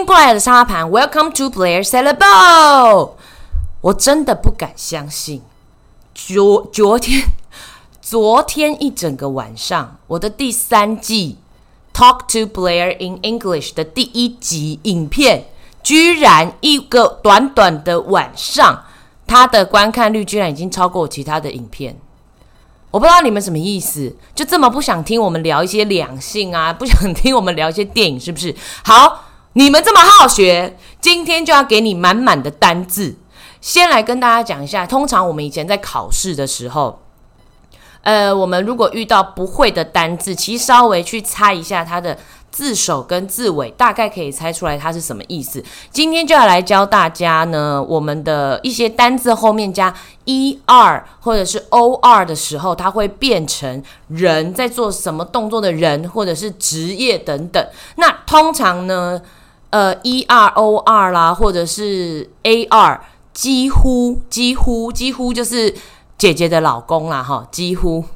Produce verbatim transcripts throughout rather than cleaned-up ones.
迎过来的沙盘 ，Welcome to Blair Salad Bowl。我真的不敢相信，昨昨天昨天一整个晚上，我的第三季 Talk to Blair in English 的第一集影片，居然一个短短的晚上，它的观看率居然已经超过我其他的影片。我不知道你们什么意思，就这么不想听我们聊一些两性啊，不想听我们聊一些电影，是不是？好，你们这么好学，今天就要给你满满的单字。先来跟大家讲一下，通常我们以前在考试的时候，呃，我们如果遇到不会的单字，其实稍微去猜一下它的字首跟字尾，大概可以猜出来它是什么意思。今天就要来教大家呢，我们的一些单字后面加 er 或者是 or 的时候，它会变成人在做什么动作的人，或者是职业等等。那通常呢，呃 er or 啦，或者是 ar， 几乎几乎几乎就是姐姐的老公啦，哈，几乎。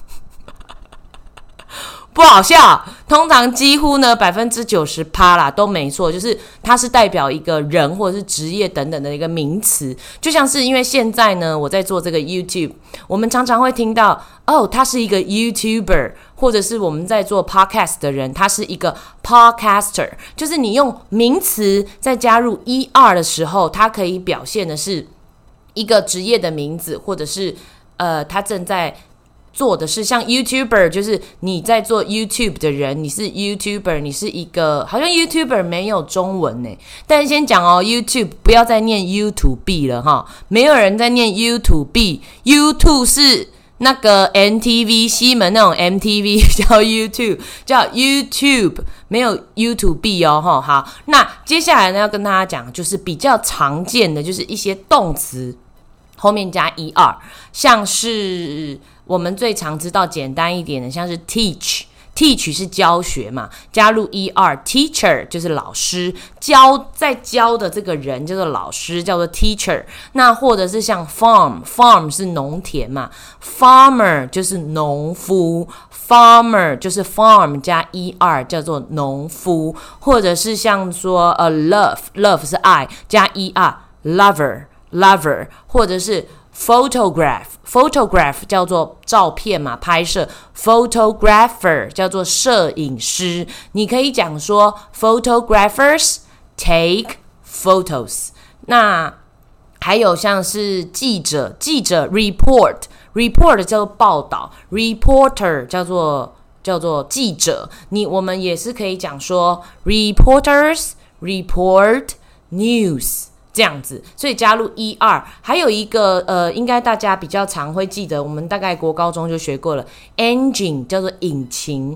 不好笑，通常几乎呢 百分之九十 啦都没错，就是它是代表一个人或者是职业等等的一个名词。就像是因为现在呢我在做这个 YouTube， 我们常常会听到哦，他是一个 YouTuber， 或者是我们在做 Podcast 的人，他是一个 Podcaster， 就是你用名词再加入 er 的时候，它可以表现的是一个职业的名字，或者是呃他正在做的是像 YouTuber， 就是你在做 YouTube 的人，你是 YouTuber， 你是一个好像 YouTuber 没有中文耶，但是先讲哦 YouTube 不要再念 YouTube 了哈，没有人在念 YouTube，YouTube 是那个 N T V 西门那种 M T V 叫 YouTube， 叫 YouTube， 没有 YouTube 哦哈。好，那接下来呢要跟大家讲，就是比较常见的就是一些动词后面加 er， 像是我们最常知道简单一点的，像是 teach， teach 是教学嘛，加入 er， teacher 就是老师，教在教的这个人叫做老师，叫做 teacher。那或者是像 farm， farm 是农田嘛， farmer 就是农夫， farmer 就是 farm 加 er 叫做农夫。或者是像说呃 love， love 是爱加 er lover lover， 或者是 photograph photograph 叫做照片嘛，拍摄， photographer 叫做摄影师。你可以讲说 photographers take photos。 那还有像是记者，记者 report report 叫做报道， reporter 叫做叫做记者。你我们也是可以讲说 reporters report news这样子，所以加入 er。 还有一个呃，应该大家比较常会记得，我们大概国高中就学过了， engine 叫做引擎，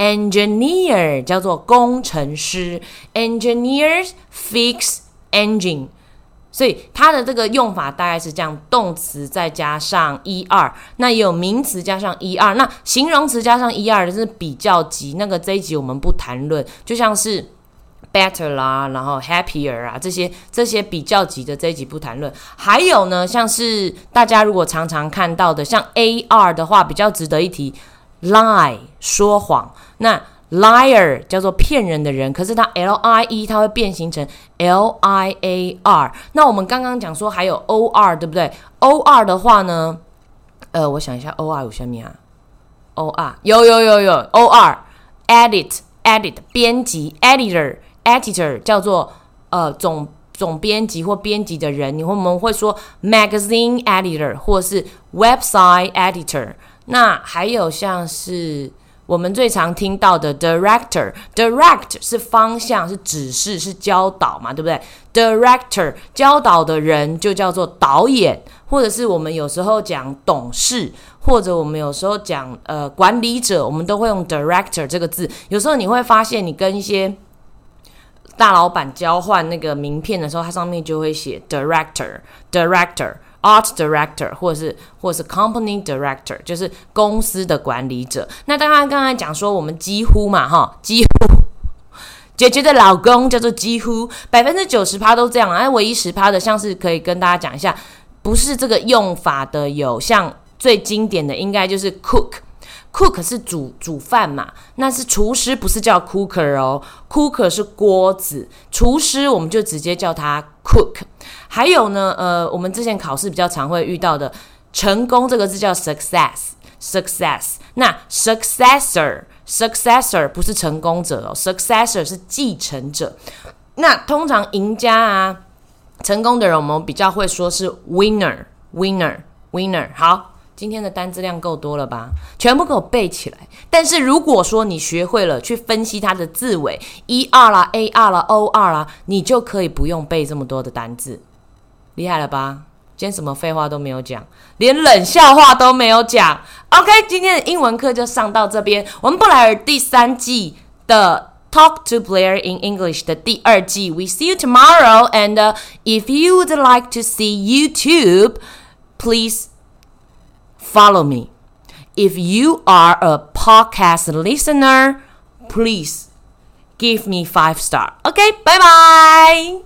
engineer 叫做工程师， engineers fix engine。 所以它的这个用法大概是这样，动词再加上 er， 那也有名词加上 er， 那形容词加上 er 的是比较级，那个这一集我们不谈论，就像是better 啦，然后 happier 啊，这些这些比较级的这一集不谈论。还有呢，像是大家如果常常看到的，像 ar 的话，比较值得一提 lie 说谎。那 liar 叫做骗人的人，可是它 lie 它会变形成 liar。 那我们刚刚讲说还有 or 对不对？ or 的话呢，呃，我想一下 or 有什么啊？ or 有有有有 or edit edit 编辑 editor editor 叫做呃总总编辑或编辑的人，你我们会说 magazine editor 或是 website editor。 那还有像是我们最常听到的 director， direct 是方向，是指示，是教导嘛，对不对？ director 教导的人就叫做导演，或者是我们有时候讲董事，或者我们有时候讲呃管理者，我们都会用 director 这个字。有时候你会发现，你跟一些大老板交换那个名片的时候，它上面就会写 director director art director， 或者是或者是 company director， 就是公司的管理者。那当然刚才讲说我们几乎嘛哈，几乎姐姐的老公叫做几乎， 百分之九十 都这样，而唯一 百分之十 的像是可以跟大家讲一下，不是这个用法的有像最经典的应该就是 cook cook 是煮煮饭嘛，那是厨师，不是叫 cooker 哦 ，cooker 是锅子，厨师我们就直接叫他 cook。还有呢，呃，我们之前考试比较常会遇到的成功这个字叫 success，success。那 successor，successor 不是成功者哦 ，successor 是继承者。那通常赢家啊，成功的人我们比较会说是 winner，winner，winner。好，今天的单字量够多了吧？全部给我背起来。但是如果说你学会了去分析它的字尾 er 啦、ar 啦、or 啦，你就可以不用背这么多的单字。厉害了吧？今天什么废话都没有讲，连冷笑话都没有讲。OK， 今天的英文课就上到这边。我们布莱尔第三季的 Talk to Blair in English 的第二季 We see you tomorrow. And、uh, if you would like to see YouTube, please follow me. If you are a podcast listener, please give me five star. OK, bye bye.